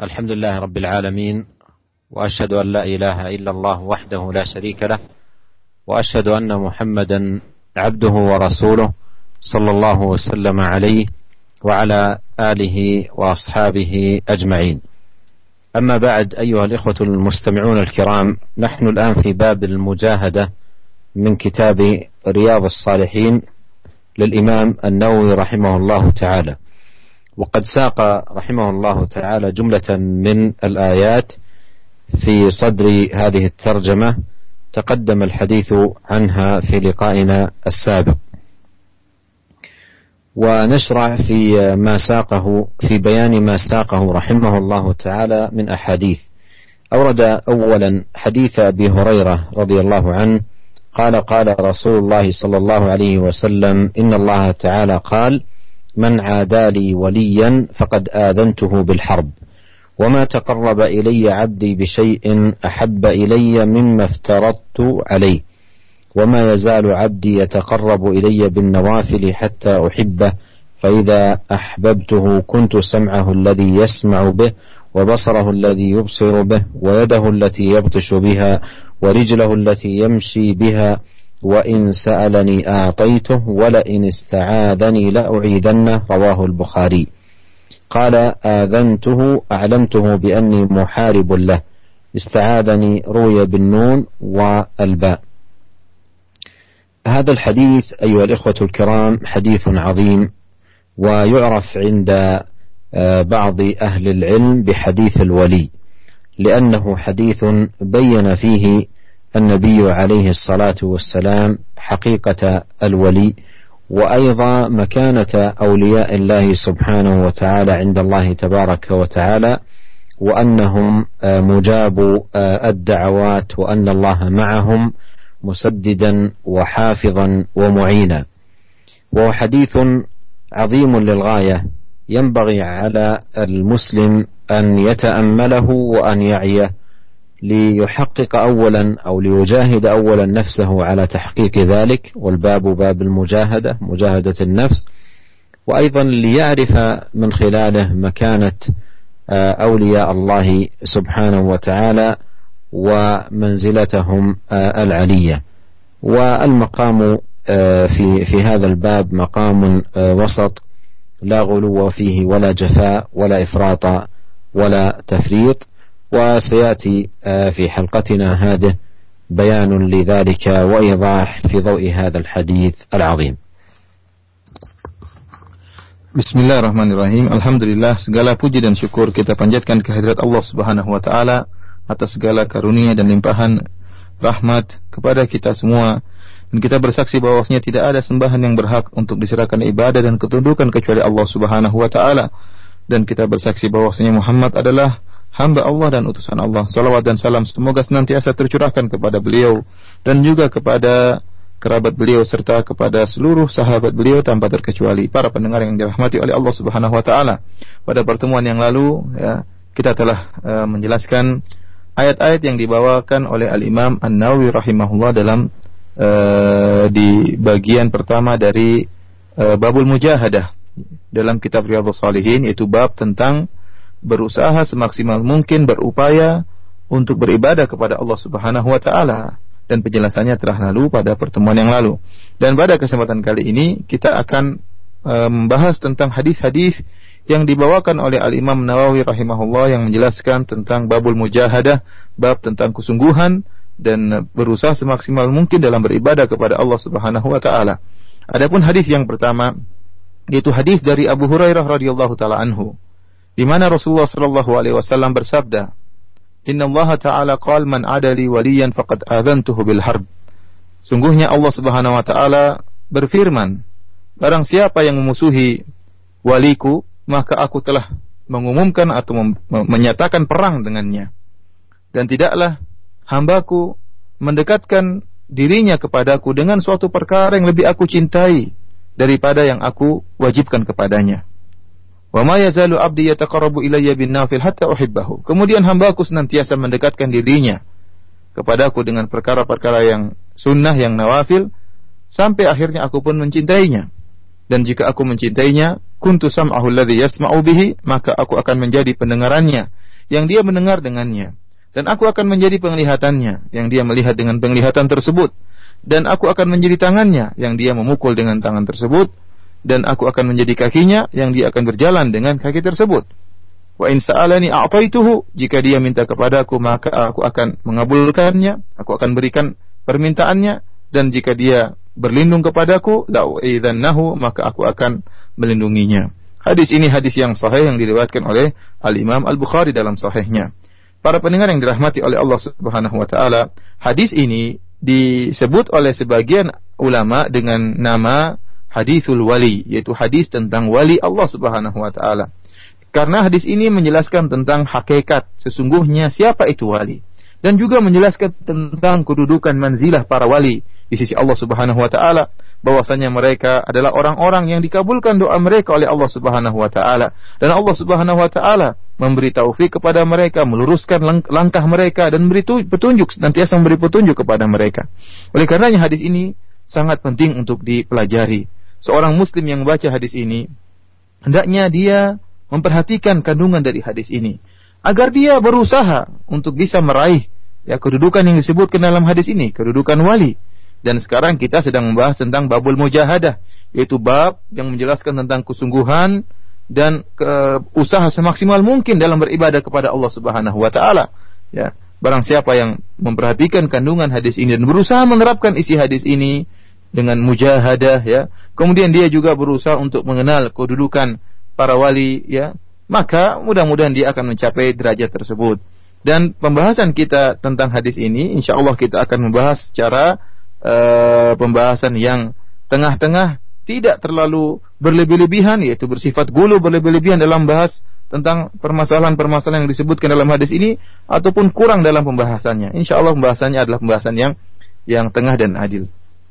الحمد لله رب العالمين، وأشهد أن لا إله إلا الله وحده لا شريك له، وأشهد أن محمدا عبده ورسوله صلى الله وسلم عليه وعلى آله وأصحابه أجمعين. أما بعد، أيها الإخوة المستمعون الكرام، نحن الآن في باب المجاهدة من كتاب رياض الصالحين للإمام النووي رحمه الله تعالى، وقد ساق رحمه الله تعالى جملة من الآيات في صدر هذه الترجمة تقدم الحديث عنها في لقائنا السابق، ونشرع في ما ساقه في بيان ما ساقه رحمه الله تعالى من أحاديث. أورد أولا حديث أبي هريرة رضي الله عنه قال: قال رسول الله صلى الله عليه وسلم: إن الله تعالى قال: من عادى لي وليا فقد آذنته بالحرب، وما تقرب إلي عبدي بشيء أحب إلي مما افترضت عليه، وما يزال عبدي يتقرب إلي بالنوافل حتى أحبه، فإذا أحببته كنت سمعه الذي يسمع به، وبصره الذي يبصر به، ويده التي يبطش بها، ورجله التي يمشي بها، وإن سألني أعطيته، ولئن استعاذني لأعيذنه. رواه البخاري. قال: آذنته أعلمته بأني محارب له، استعاذني روي بالنون والباء. هذا الحديث أيها الإخوة الكرام حديث عظيم، ويعرف عند بعض أهل العلم بحديث الولي، لأنه حديث بين فيه النبي عليه الصلاة والسلام حقيقة الولي، وأيضا مكانة أولياء الله سبحانه وتعالى عند الله تبارك وتعالى، وأنهم مجاب الدعوات، وأن الله معهم مسددا وحافظا ومعينا. وهو حديث عظيم للغاية، ينبغي على المسلم أن يتأمله وأن يعيه ليحقق أولا أو ليجاهد أولا نفسه على تحقيق ذلك، والباب باب المجاهدة، مجاهدة النفس، وأيضا ليعرف من خلاله مكانة أولياء الله سبحانه وتعالى ومنزلتهم العلية. والمقام في هذا الباب مقام وسط، لا غلو فيه ولا جفاء ولا إفراط ولا تفريط، وسيأتي في حلقتنا هذه بيان لذلك وإيضاح في ضوء هذا الحديث العظيم. Bismillahirrahmanirrahim. Alhamdulillah, segala puji dan syukur kita panjatkan kehadirat Allah Subhanahu wa taala atas segala karunia dan limpahan rahmat kepada kita semua. Dan kita bersaksi bahwasanya tidak ada sembahan yang berhak untuk diserahkan ibadah dan ketundukan kecuali Allah Subhanahu wa taala. Dan kita bersaksi bahwasanya Muhammad adalah hamba Allah dan utusan Allah. Salawat dan salam semoga senantiasa tercurahkan kepada beliau dan juga kepada kerabat beliau serta kepada seluruh sahabat beliau tanpa terkecuali. Para pendengar yang dirahmati oleh Allah Subhanahu wa taala, pada pertemuan yang lalu kita telah menjelaskan ayat-ayat yang dibawakan oleh Al-Imam An-Nawawi rahimahullah dalam di bagian pertama dari babul mujahadah dalam kitab Riyadhus Shalihin, yaitu bab tentang berusaha semaksimal mungkin berupaya untuk beribadah kepada Allah Subhanahu wa taala, dan penjelasannya telah lalu pada pertemuan yang lalu. Dan pada kesempatan kali ini kita akan membahas tentang hadis-hadis yang dibawakan oleh Al-Imam Nawawi rahimahullah yang menjelaskan tentang babul mujahadah, bab tentang kesungguhan dan berusaha semaksimal mungkin dalam beribadah kepada Allah Subhanahu wa taala. Adapun hadis yang pertama yaitu hadis dari Abu Hurairah radhiyallahu taala anhu, di mana Rasulullah sallallahu alaihi wasallam bersabda, "Inna Allah ta'ala qala man adali waliyan faqad adzantuhu bil harb." Sungguhnya Allah Subhanahu wa taala berfirman, barang siapa yang memusuhi waliku, maka aku telah mengumumkan atau menyatakan perang dengannya. Dan tidaklah hambaku mendekatkan dirinya kepadaku dengan suatu perkara yang lebih aku cintai daripada yang aku wajibkan kepadanya. Wa ma yazalu 'abdi yataqarrabu ilayya bin nafil hatta uhibbahu. Kemudian hambaku senantiasa mendekatkan dirinya kepadaku dengan perkara-perkara yang sunnah, yang nawafil, sampai akhirnya aku pun mencintainya. Dan jika aku mencintainya, kuntu sam'ahu alladhi yasma'u bihi, maka aku akan menjadi pendengarannya yang dia mendengar dengannya. Dan aku akan menjadi penglihatannya, yang dia melihat dengan penglihatan tersebut. Dan aku akan menjadi tangannya, yang dia memukul dengan tangan tersebut. Dan aku akan menjadi kakinya, yang dia akan berjalan dengan kaki tersebut. Wa in sa'alani a'taituhu, jika dia minta kepadaku maka aku akan mengabulkannya, aku akan berikan permintaannya. Dan jika dia berlindung kepadaku, la'u'idzannahu, maka aku akan melindunginya. Hadis ini hadis yang sahih yang diriwayatkan oleh Al-Imam Al-Bukhari dalam sahihnya. Para pendengar yang dirahmati oleh Allah Subhanahu wa taala, hadis ini disebut oleh sebagian ulama dengan nama hadisul wali, yaitu hadis tentang wali Allah Subhanahu wa taala. Karena hadis ini menjelaskan tentang hakikat sesungguhnya siapa itu wali, dan juga menjelaskan tentang kedudukan manzilah para wali di sisi Allah Subhanahu wa taala, bahwasanya mereka adalah orang-orang yang dikabulkan doa mereka oleh Allah Subhanahu wa taala, dan Allah Subhanahu wa taala memberi taufik kepada mereka, meluruskan langkah mereka dan memberi petunjuk, senantiasa memberi petunjuk kepada mereka. Oleh karenanya hadis ini sangat penting untuk dipelajari. Seorang muslim yang membaca hadis ini hendaknya dia memperhatikan kandungan dari hadis ini agar dia berusaha untuk bisa meraih kedudukan yang disebutkan dalam hadis ini, kedudukan wali. Dan sekarang kita sedang membahas tentang babul mujahadah, yaitu bab yang menjelaskan tentang kesungguhan dan usaha semaksimal mungkin dalam beribadah kepada Allah Subhanahu wa taala. Ya, barang siapa yang memperhatikan kandungan hadis ini dan berusaha menerapkan isi hadis ini dengan mujahadah, ya, kemudian dia juga berusaha untuk mengenal kedudukan para wali, ya, maka mudah-mudahan dia akan mencapai derajat tersebut. Dan pembahasan kita tentang hadis ini, insyaallah kita akan membahas secara pembahasan yang tengah-tengah, tidak terlalu berlebih-lebihan, yaitu bersifat gulu berlebih-lebihan dalam bahas tentang permasalahan-permasalahan yang disebutkan dalam hadis ini, ataupun kurang dalam pembahasannya. Insyaallah pembahasannya adalah pembahasan yang tengah dan adil.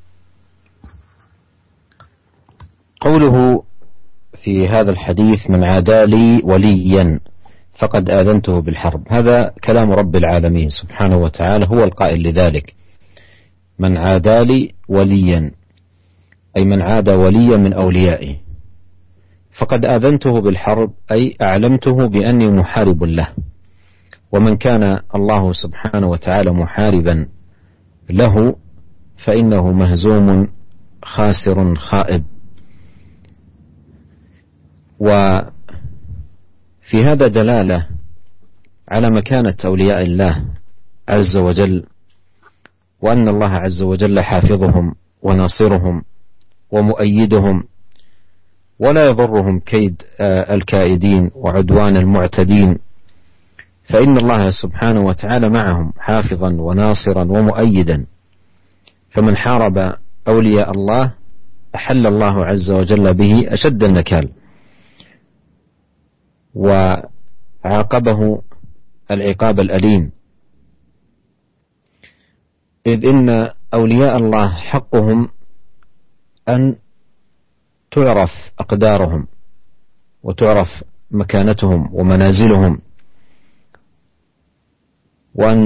قوله في هذا الحديث من عادى لي وليا فقد آذنته بالحرب، هذا كلام رب العالمين سبحانه وتعالى، هو القائل لذلك: من عادى لي وليا، أي من عاد وليا من أوليائه، فقد آذنته بالحرب، أي أعلمته بأني محارب له. ومن كان الله سبحانه وتعالى محاربا له فإنه مهزوم خاسر خائب. وفي هذا دلالة على مكانة أولياء الله عز وجل، وأن الله عز وجل حافظهم وناصرهم ومؤيدهم، ولا يضرهم كيد الكائدين وعدوان المعتدين، فإن الله سبحانه وتعالى معهم حافظا وناصرا ومؤيدا. فمن حارب أولياء الله أحل الله عز وجل به أشد النكال، وعاقبه العقاب الأليم، إذ إن أولياء الله حقهم أن تعرف أقدارهم وتعرف مكانتهم ومنازلهم، وأن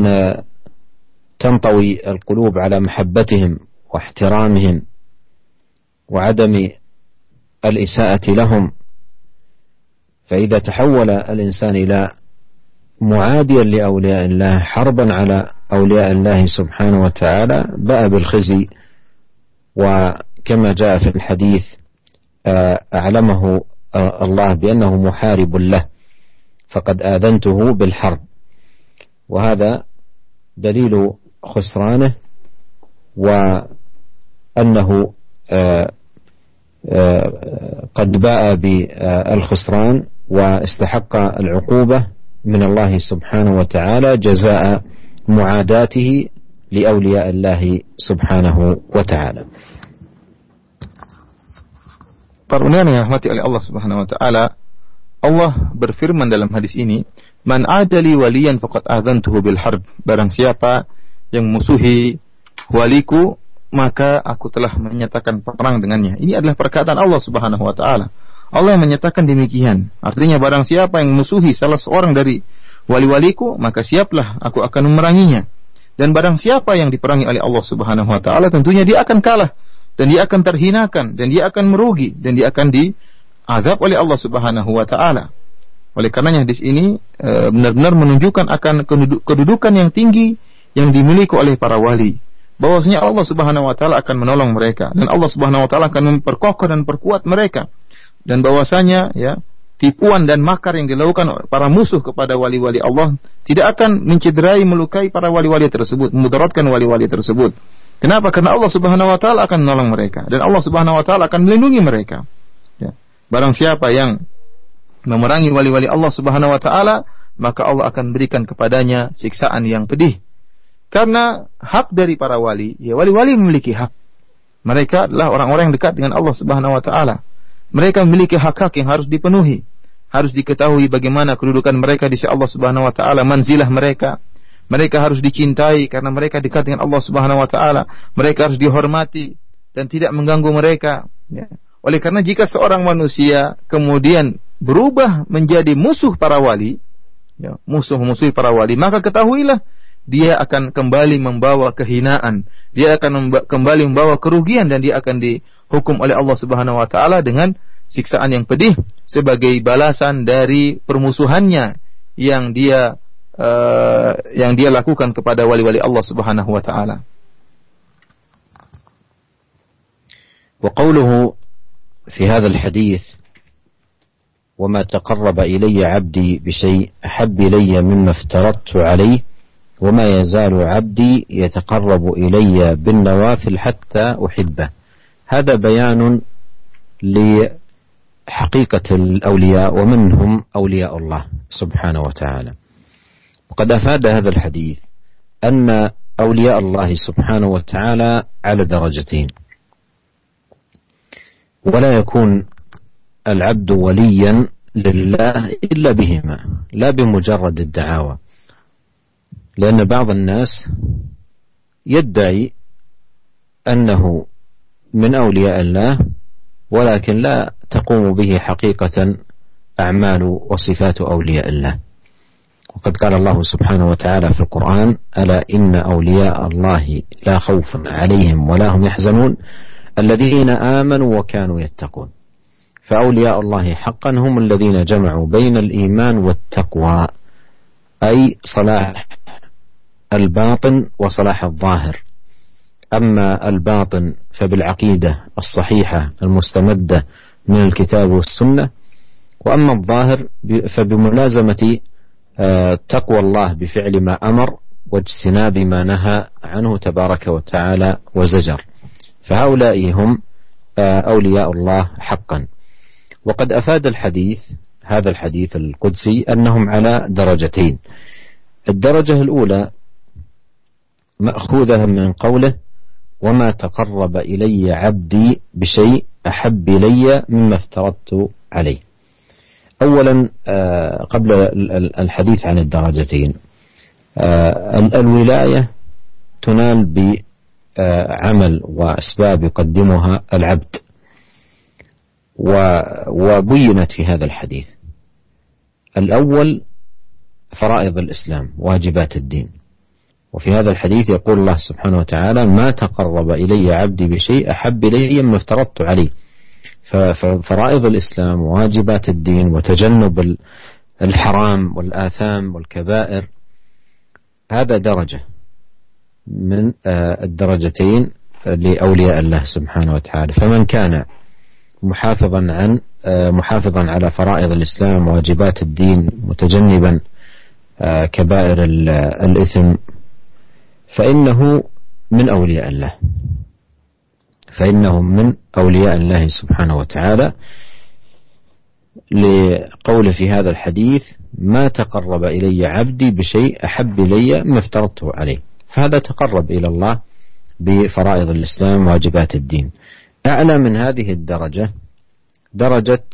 تنطوي القلوب على محبتهم واحترامهم وعدم الإساءة لهم. فإذا تحول الإنسان إلى معاديا لأولياء الله حربا على أولياء الله سبحانه وتعالى باء بالخزي، وكما جاء في الحديث أعلمه الله بأنه محارب له فقد آذنته بالحرب، وهذا دليل خسرانه، وأنه قد باء بالخسران واستحق العقوبة من الله سبحانه وتعالى جزاء معاداته لأولياء الله سبحانه وتعالى. Para pendengar yang dirahmati oleh Allah Subhanahu wa taala, Allah berfirman dalam hadis ini, "Man adali waliyan faqad adzantuhu bil harb." Barang siapa yang musuhi waliku, maka aku telah menyatakan perang dengannya. Ini adalah perkataan Allah Subhanahu wa taala. Allah yang menyatakan demikian. Artinya barang siapa yang musuhi salah seorang dari wali-waliku, maka siaplah aku akan memeranginya. Dan barang siapa yang diperangi oleh Allah Subhanahu wa taala, tentunya dia akan kalah, dan dia akan terhinakan, dan dia akan merugi, dan dia akan diazab oleh Allah Subhanahu wa taala. Oleh karenanya hadis ini benar-benar menunjukkan akan kedudukan yang tinggi yang dimiliki oleh para wali. Bahwasanya Allah Subhanahu wa taala akan menolong mereka dan Allah Subhanahu wa taala akan memperkokoh dan perkuat mereka. Dan bahwasanya ya, tipuan dan makar yang dilakukan para musuh kepada wali-wali Allah tidak akan mencederai, melukai para wali-wali tersebut, memudaratkan wali-wali tersebut. Kenapa? Karena Allah Subhanahu wa taala akan menolong mereka dan Allah Subhanahu wa taala akan melindungi mereka. Ya. Barang siapa yang memerangi wali-wali Allah Subhanahu wa taala, maka Allah akan berikan kepadanya siksaan yang pedih. Karena hak dari para wali, ya wali-wali memiliki hak. Mereka adalah orang-orang yang dekat dengan Allah Subhanahu wa taala. Mereka memiliki hak-hak yang harus dipenuhi. Harus diketahui bagaimana kedudukan mereka di sisi Allah Subhanahu wa taala, manzilah mereka. Mereka harus dicintai karena mereka dekat dengan Allah Subhanahu wa taala. Mereka harus dihormati dan tidak mengganggu mereka, ya. Oleh karena jika seorang manusia kemudian berubah menjadi musuh para wali, ya, musuh-musuh para wali, maka ketahuilah dia akan kembali membawa kehinaan, dia akan kembali membawa kerugian dan dia akan dihukum oleh Allah Subhanahu wa taala dengan siksaan yang pedih sebagai balasan dari permusuhannya yang dia lakukan kepada wali-wali Allah Subhanahu wa taala. Wa qawluhu في هذا الحديث وما تقرب إلي عبدي بشيء أحب إلي مما افترضت عليه وما يزال عبدي يتقرب إلي بالنوافل حتى أحبه. هذا بيان لحقيقة الأولياء ومنهم أولياء الله سبحانه وتعالى. وقد أفاد هذا الحديث أن أولياء الله سبحانه وتعالى على درجتين، ولا يكون العبد وليا لله إلا بهما، لا بمجرد الدعاوى، لأن بعض الناس يدعي أنه من أولياء الله ولكن لا تقوم به حقيقة أعمال وصفات أولياء الله. وقد قال الله سبحانه وتعالى في القرآن: ألا إن أولياء الله لا خوف عليهم ولا هم يحزنون الذين آمنوا وكانوا يتقون. فأولياء الله حقا هم الذين جمعوا بين الإيمان والتقوى، أي صلاح الباطن وصلاح الظاهر. أما الباطن فبالعقيدة الصحيحة المستمدة من الكتاب والسنة، وأما الظاهر فبملازمة تقوى الله بفعل ما أمر واجتناب ما نهى عنه تبارك وتعالى وزجر. فهؤلاء هم أولياء الله حقا. وقد أفاد هذا الحديث القدسي أنهم على درجتين. الدرجة الأولى مأخوذة من قوله: وما تقرب إلي عبدي بشيء أحب إلي مما افترضت عليه. أولا قبل الحديث عن الدرجتين، الولاية تنال بعمل وأسباب يقدمها العبد، وبينت في هذا الحديث. الأول فرائض الإسلام، واجبات الدين. وفي هذا الحديث يقول الله سبحانه وتعالى: ما تقرب إلي عبدي بشيء أحب إلي مما افترضت عليه. ففرائض الإسلام وواجبات الدين وتجنب الحرام والآثام والكبائر، هذا درجة من الدرجتين لأولياء الله سبحانه وتعالى. فمن كان محافظا على فرائض الإسلام وواجبات الدين متجنبا كبائر الإثم فإنه من أولياء الله، فإنه من أولياء الله سبحانه وتعالى، لقول في هذا الحديث: ما تقرب إلي عبدي بشيء أحب إلي ما افترضته عليه. فهذا تقرب إلى الله بفرائض الإسلام وواجبات الدين. أعلى من هذه الدرجة درجة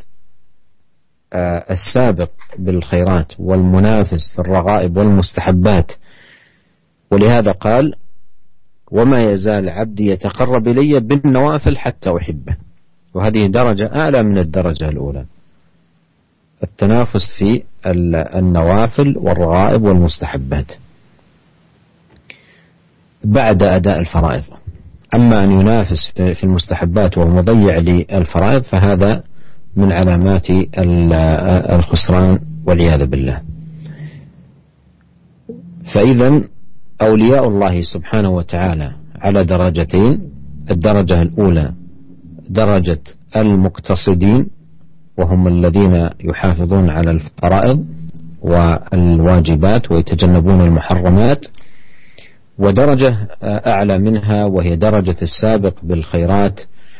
السابق بالخيرات والمنافس في الرغائب والمستحبات. ولهذا قال: وما يزال عبدي يتقرب إلي بالنوافل حتى أحبه. وهذه درجة أعلى من الدرجة الأولى، التنافس في النوافل والرغائب والمستحبات بعد أداء الفرائض. أما أن ينافس في المستحبات وهو مضيع للفرائض فهذا من علامات الخسران والعياذ بالله. فإذا أولياء الله سبحانه وتعالى على درجتين: الدرجة الأولى درجة المقتصدين وهم الذين يحافظون على الفرائض والواجبات ويتجنبون المحرمات، ودرجة أعلى منها وهي درجة السابق بالخيرات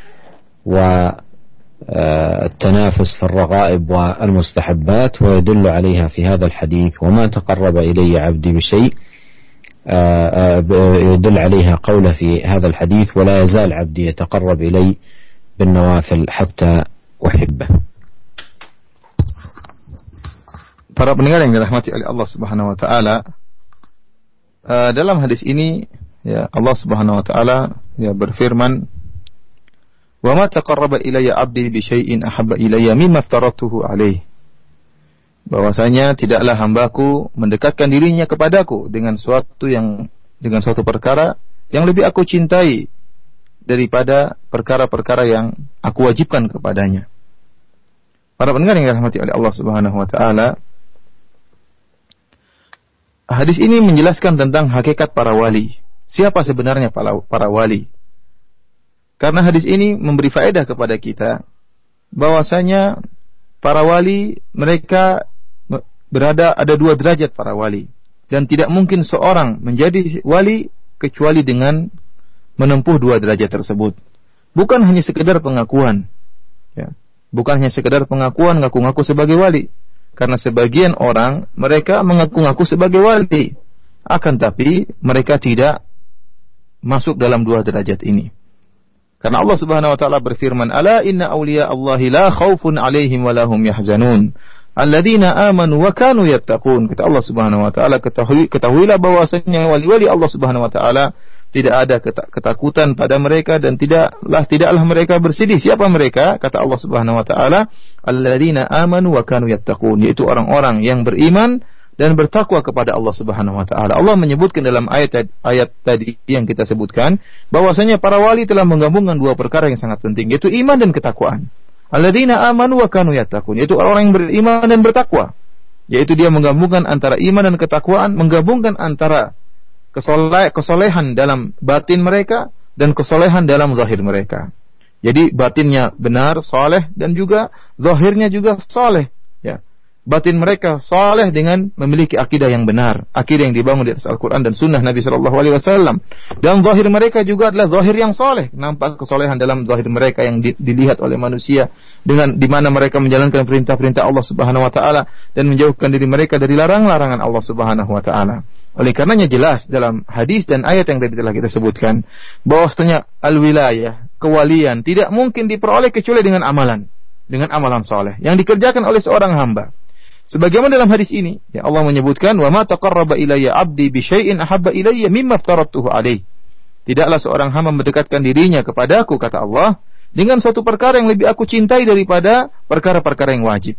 والتنافس في الرغائب والمستحبات، ويدل عليها في هذا الحديث: وما تقرب إلي عبدي بشيء، يدل عليها قوله في هذا الحديث: ولا يزال عبدي يتقرب إلي بالنوافل حتى أحبه. Para pendengar yang dirahmati oleh Allah Subhanahu wa taala, dalam hadis ini ya Allah Subhanahu wa taala ya berfirman, "Wa ma taqarraba ilayya 'abdi bi syai'in ahabba ilayya mimma aftaratuhu 'alaihi." Bahwasanya tidaklah hambaku mendekatkan dirinya kepadaku dengan suatu perkara yang lebih aku cintai daripada perkara-perkara yang aku wajibkan kepadanya. Para pendengar yang dirahmati oleh Allah Subhanahu wa taala, hadis ini menjelaskan tentang hakikat para wali. Siapa sebenarnya para wali? Karena hadis ini memberi faedah kepada kita bahwasanya para wali mereka ada dua derajat para wali, dan tidak mungkin seorang menjadi wali kecuali dengan menempuh dua derajat tersebut. Bukan hanya sekedar pengakuan, ya. Bukan hanya sekedar pengakuan ngaku-ngaku sebagai wali. Karena sebagian orang mereka mengaku-ngaku sebagai wali, akan tapi mereka tidak masuk dalam dua derajat ini. Karena Allah Subhanahu wa taala berfirman, "Ala inna awliya Allahi la khaufun 'alaihim wa lahum yahzanun, alladzina amanu wa kanu yattaqun." Kata Allah Subhanahu wa taala, ketahuilah bahwasanya wali-wali Allah Subhanahu wa taala tidak ada ketakutan pada mereka dan tidaklah mereka bersedih. Siapa mereka? Kata Allah Subhanahu wa taala, alladzina amanu wa kanu yattaqun, yaitu orang-orang yang beriman dan bertakwa kepada Allah Subhanahu wa taala. Allah menyebutkan dalam ayat tadi yang kita sebutkan bahwasanya para wali telah menggabungkan dua perkara yang sangat penting, yaitu iman dan ketakwaan. Alladzina amanu wa kanu yattaqun, yaitu orang yang beriman dan bertakwa, yaitu dia menggabungkan antara iman dan ketakwaan, menggabungkan antara kesolehan dalam batin mereka dan kesolehan dalam zahir mereka. Jadi batinnya benar, soleh, dan juga zahirnya juga soleh. Ya. Batin mereka soleh dengan memiliki akidah yang benar, akidah yang dibangun di atas Al-Quran dan Sunnah Nabi SAW. Dan zahir mereka juga adalah zahir yang soleh. Nampak kesolehan dalam zahir mereka yang dilihat oleh manusia, dengan di mana mereka menjalankan perintah-perintah Allah Subhanahu wa taala dan menjauhkan diri mereka dari larangan-larangan Allah Subhanahu wa taala. Oleh karenanya jelas dalam hadis dan ayat yang tadi telah kita sebutkan bahwasanya al-wilayah, kewalian tidak mungkin diperoleh kecuali dengan amalan saleh yang dikerjakan oleh seorang hamba. Sebagaimana dalam hadis ini, ya Allah menyebutkan, "Wa ma taqarraba ilayya 'abdi bi syai'in ahabba ilayya mimma aftaratuhu 'alaihi." Tidaklah seorang hamba mendekatkan dirinya kepadaku, kata Allah, dengan suatu perkara yang lebih aku cintai daripada perkara-perkara yang wajib.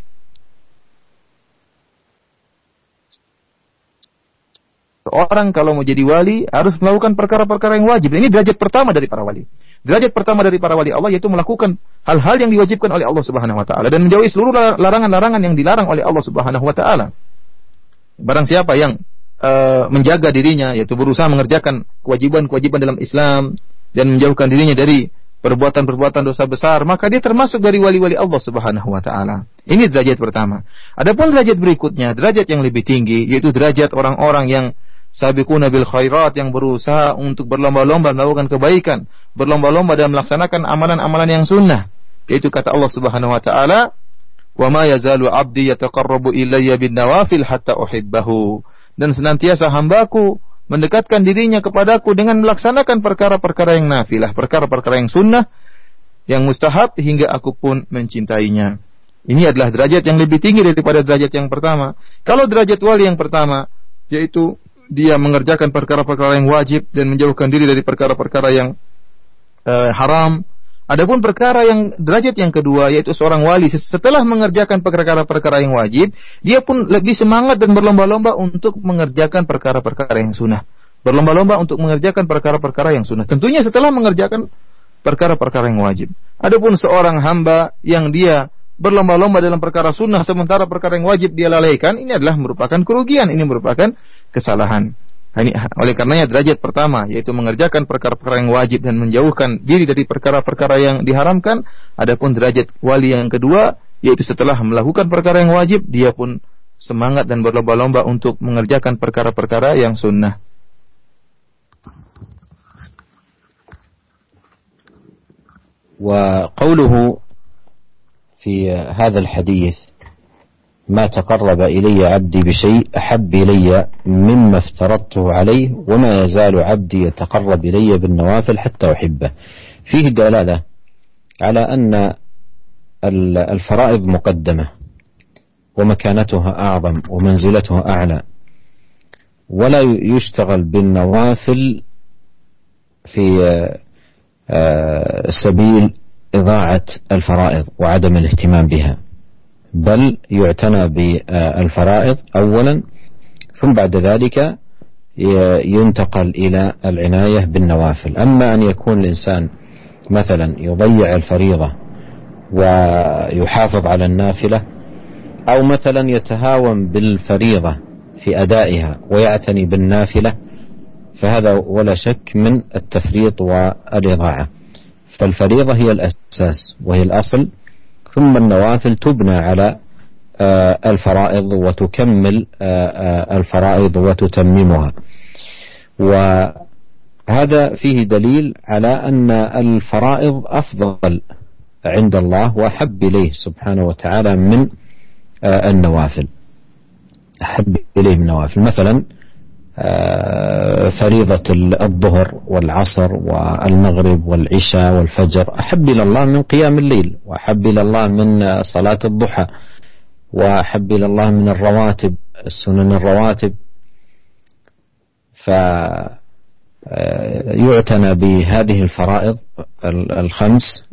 Seorang kalau mau jadi wali harus melakukan perkara-perkara yang wajib. Ini derajat pertama dari para wali. Derajat pertama dari para wali Allah yaitu melakukan hal-hal yang diwajibkan oleh Allah Subhanahu wa taala dan menjauhi seluruh larangan-larangan yang dilarang oleh Allah Subhanahu wa taala. Barang siapa yang menjaga dirinya, yaitu berusaha mengerjakan kewajiban-kewajiban dalam Islam dan menjauhkan dirinya dari perbuatan-perbuatan dosa besar, maka dia termasuk dari wali-wali Allah Subhanahu wa taala. Ini derajat pertama. Adapun derajat berikutnya, derajat yang lebih tinggi, yaitu derajat orang-orang yang sabiquna bil khairat, yang berusaha untuk berlomba-lomba melakukan kebaikan, berlomba-lomba dalam melaksanakan amalan-amalan yang sunnah. Yaitu kata Allah Subhanahu wa taala, "Wa ma yazalu 'abdi yataqarrabu ilayya bin nawafil hatta uhibbahu." Dan senantiasa hambaku mendekatkan dirinya kepadaku dengan melaksanakan perkara-perkara yang nafilah, perkara-perkara yang sunnah, yang mustahab, hingga aku pun mencintainya. Ini adalah derajat yang lebih tinggi daripada derajat yang pertama. Kalau derajat wali yang pertama, yaitu dia mengerjakan perkara-perkara yang wajib dan menjauhkan diri dari perkara-perkara yang haram. Adapun perkara yang derajat yang kedua, yaitu seorang wali setelah mengerjakan perkara-perkara yang wajib, dia pun lebih semangat dan berlomba-lomba untuk mengerjakan perkara-perkara yang sunnah. Berlomba-lomba untuk mengerjakan perkara-perkara yang sunnah. Tentunya setelah mengerjakan perkara-perkara yang wajib. Adapun seorang hamba yang dia berlomba-lomba dalam perkara sunnah sementara perkara yang wajib dia lalaikan, ini adalah merupakan kerugian, ini merupakan kesalahan. Ini oleh karenanya derajat pertama yaitu mengerjakan perkara-perkara yang wajib dan menjauhkan diri dari perkara-perkara yang diharamkan. Adapun derajat wali yang kedua yaitu setelah melakukan perkara yang wajib dia pun semangat dan berlomba-lomba untuk mengerjakan perkara-perkara yang sunnah. وقوله في هذا الحديث ما تقرب إلي عبدي بشيء أحب إلي مما افترضته عليه وما يزال عبدي يتقرب إلي بالنوافل حتى أحبه، فيه دلالة على أن الفرائض مقدمة ومكانتها أعظم ومنزلتها أعلى، ولا يشتغل بالنوافل في سبيل إضاعة الفرائض وعدم الاهتمام بها، بل يعتنى بالفرائض أولا ثم بعد ذلك ينتقل إلى العناية بالنوافل. أما أن يكون الإنسان مثلا يضيع الفريضة ويحافظ على النافلة، أو مثلا يتهاون بالفريضة في أدائها ويعتني بالنافلة، فهذا ولا شك من التفريط والإضاعة. فالفريضة هي الأساس وهي الأصل، ثم النوافل تبنى على الفرائض وتكمل الفرائض وتتممها. وهذا فيه دليل على أن الفرائض أفضل عند الله وأحب إليه سبحانه وتعالى من النوافل. أحب إليه من النوافل، مثلا فريضة الظهر والعصر والمغرب والعشاء والفجر أحب إلى الله من قيام الليل، وأحب إلى الله من صلاة الضحى، وأحب إلى الله من الرواتب السنن الرواتب. فيعتنى بهذه الفرائض الخمس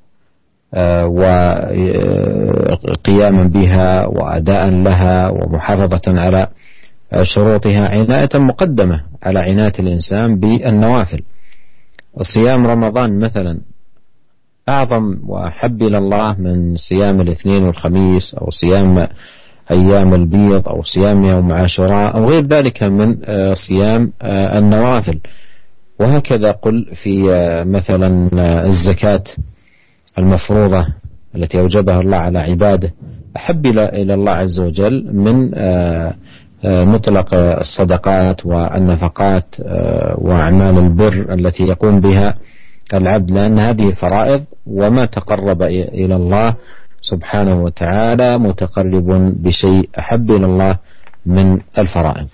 وقياما بها وأداء لها ومحافظة على شروطها عناية مقدمة على عناية الإنسان بالنوافل. صيام رمضان مثلا أعظم وأحب إلى الله من صيام الاثنين والخميس، أو صيام أيام البيض، أو صيام يوم عاشوراء، أو غير ذلك من صيام النوافل. وهكذا قل في مثلا الزكاة المفروضة التي أوجبها الله على عباده أحب إلى الله عز وجل من مطلق الصدقات والنفقات وأعمال البر التي يقوم بها العبد، لأن هذه فرائض، وما تقرب إلى الله سبحانه وتعالى متقرب بشيء أحب إلى الله من الفرائض.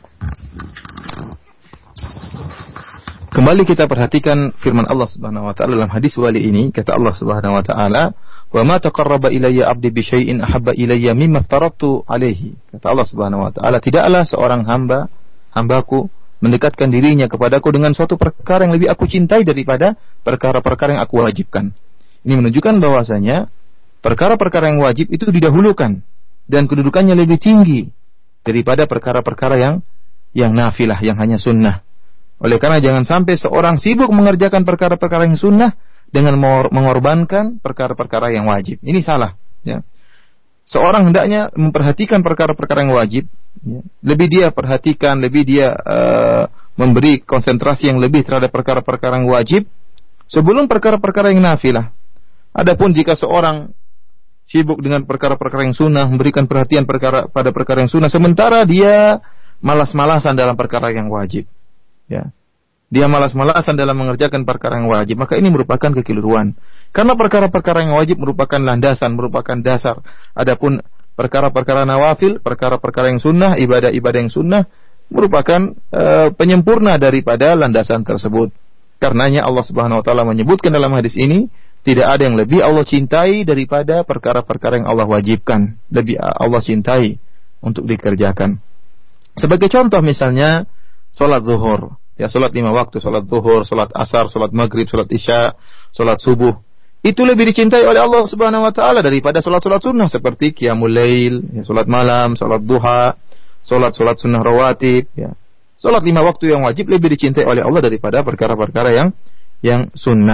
Kembali kita perhatikan firman Allah Subhanahu wa taala dalam hadis wali ini, kata Allah Subhanahu wa taala, "Wa ma taqarraba ilayya 'abdi bi syai'in ahabba ilayya mimma aftaradtu 'alaihi." Kata Allah Subhanahu wa taala, tidaklah seorang hambaku mendekatkan dirinya kepadaku dengan suatu perkara yang lebih aku cintai daripada perkara-perkara yang aku wajibkan. Ini menunjukkan bahwasanya perkara-perkara yang wajib itu didahulukan dan kedudukannya lebih tinggi daripada perkara-perkara yang nafilah, yang hanya sunnah. Oleh karena jangan sampai seorang sibuk mengerjakan perkara-perkara yang sunnah dengan mengorbankan perkara-perkara yang wajib. Ini salah. Ya. Seorang hendaknya memperhatikan perkara-perkara yang wajib. Ya. Lebih dia perhatikan, lebih dia memberi konsentrasi yang lebih terhadap perkara-perkara yang wajib sebelum perkara-perkara yang nafilah. Adapun jika seorang sibuk dengan perkara-perkara yang sunnah, memberikan perhatian pada perkara yang sunnah, sementara dia malas-malasan dalam perkara yang wajib. Ya. Dia malas-malasan dalam mengerjakan perkara yang wajib, maka ini merupakan kekeliruan. Karena perkara-perkara yang wajib merupakan landasan, merupakan dasar. Adapun perkara-perkara nawafil, perkara-perkara yang sunnah, ibadah-ibadah yang sunnah merupakan penyempurna daripada landasan tersebut. Karenanya Allah Subhanahu wa taala menyebutkan dalam hadis ini, tidak ada yang lebih Allah cintai daripada perkara-perkara yang Allah wajibkan, lebih Allah cintai untuk dikerjakan. Sebagai contoh misalnya salat zuhur, ya, salat 5 waktu, salat zuhur, salat asar, salat maghrib, salat isya, salat subuh, itu lebih dicintai oleh Allah Subhanahu wa taala daripada salat-salat sunnah seperti qiyamul lail, ya, salat malam, salat duha, salat sunnah rawatib, ya. Salat 5 waktu yang wajib lebih dicintai oleh Allah daripada perkara-perkara yang sunnah.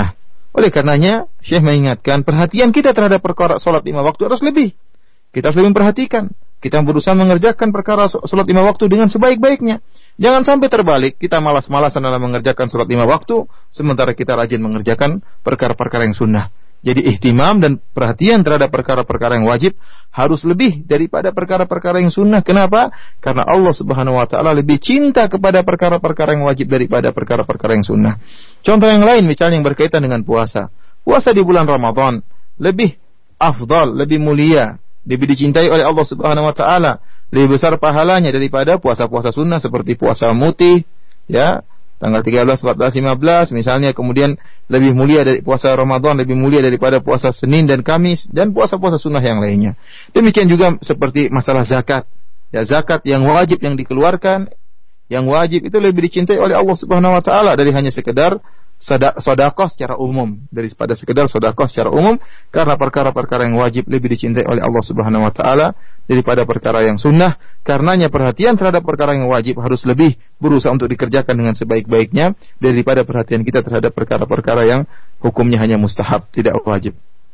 Oleh karenanya, Syekh mengingatkan perhatian kita terhadap perkara salat 5 waktu harus lebih. Kita harus lebih memperhatikan. Kita berusaha mengerjakan perkara salat 5 waktu dengan sebaik-baiknya. Jangan sampai terbalik, kita malas-malasan dalam mengerjakan salat 5 waktu, sementara kita rajin mengerjakan perkara-perkara yang sunnah. Jadi ihtimam dan perhatian terhadap perkara-perkara yang wajib harus lebih daripada perkara-perkara yang sunnah. Kenapa? Karena Allah Subhanahu wa taala lebih cinta kepada perkara-perkara yang wajib daripada perkara-perkara yang sunnah. Contoh yang lain misalnya yang berkaitan dengan puasa. Puasa di bulan Ramadan lebih afdal, lebih mulia, lebih dicintai oleh Allah Subhanahu wa taala, lebih besar pahalanya daripada puasa-puasa sunnah seperti puasa mutih, ya, tanggal 13, 14, 15 misalnya. Kemudian lebih mulia dari puasa Ramadan, lebih mulia daripada puasa Senin dan Kamis dan puasa-puasa sunnah yang lainnya. Demikian juga seperti masalah zakat. Ya, zakat yang wajib yang dikeluarkan, yang wajib itu lebih dicintai oleh Allah Subhanahu wa taala dari hanya sekedar sedekah secara umum, daripada sekedar sedekah secara umum, karena perkara-perkara yang wajib lebih dicintai oleh Allah Subhanahu wa taala daripada perkara yang sunnah. Karenanya perhatian terhadap perkara yang wajib harus lebih berusaha untuk dikerjakan dengan sebaik-baiknya daripada perhatian kita terhadap perkara-perkara yang hukumnya hanya mustahab, tidak wajib.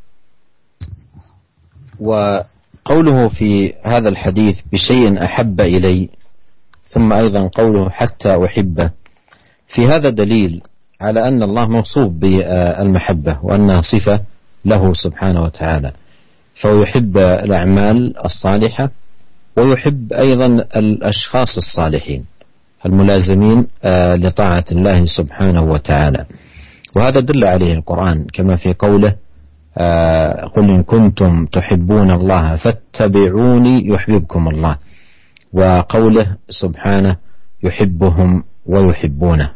وقوله في هذا الحديث بشيء أحب إلي ثم أيضا قوله حتى أحبه، في هذا دليل على أن الله موصوف بالمحبة وأنها صفة له سبحانه وتعالى، فهو يحب الأعمال الصالحة ويحب أيضا الأشخاص الصالحين الملازمين لطاعة الله سبحانه وتعالى. وهذا دل عليه القرآن كما في قوله قل إن كنتم تحبون الله فاتبعوني يحببكم الله، وقوله سبحانه يحبهم ويحبونه.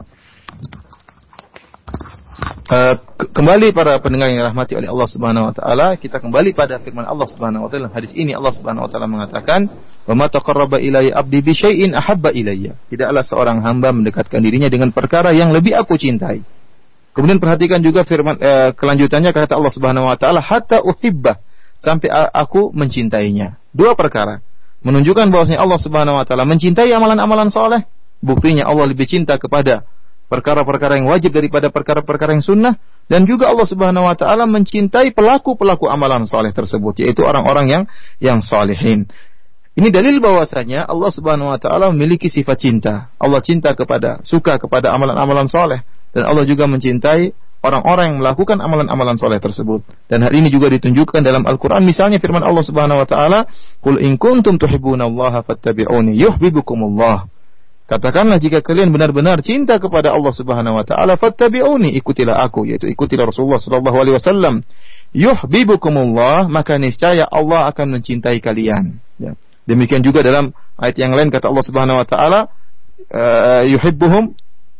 Kembali para pendengar yang dirahmati oleh Allah Subhanahu wa taala, kita kembali pada firman Allah Subhanahu wa taala. Hadis ini Allah Subhanahu wa taala mengatakan, "Wa ma taqarraba ilayya 'abdi bi syai'in ahabba ilayya." Tidaklah seorang hamba mendekatkan dirinya dengan perkara yang lebih aku cintai. Kemudian perhatikan juga firman kelanjutannya, kata Allah Subhanahu wa taala, "Hatta uhibbah," sampai aku mencintainya. Dua perkara menunjukkan bahwasanya Allah Subhanahu wa taala mencintai amalan-amalan saleh. Buktinya Allah lebih cinta kepada perkara-perkara yang wajib daripada perkara-perkara yang sunnah, dan juga Allah Subhanahu wa taala mencintai pelaku-pelaku amalan saleh tersebut, yaitu orang-orang yang salihin. Ini dalil bahwasanya Allah Subhanahu wa taala memiliki sifat cinta. Allah suka kepada amalan-amalan saleh, dan Allah juga mencintai orang-orang yang melakukan amalan-amalan saleh tersebut. Dan hal ini juga ditunjukkan dalam Al-Qur'an, misalnya firman Allah Subhanahu wa taala, "Qul in kuntum tuhibbunallaha fattabi'uni yuhibbukumullah." Katakanlah jika kalian benar-benar cinta kepada Allah Subhanahu wa taala, fattabi'uni, ikutilah aku, yaitu ikutilah Rasulullah sallallahu alaihi wasallam. Yuhibbukumullah, maka niscaya Allah akan mencintai kalian. Ya. Demikian juga dalam ayat yang lain kata Allah Subhanahu wa taala, yuhibbuhum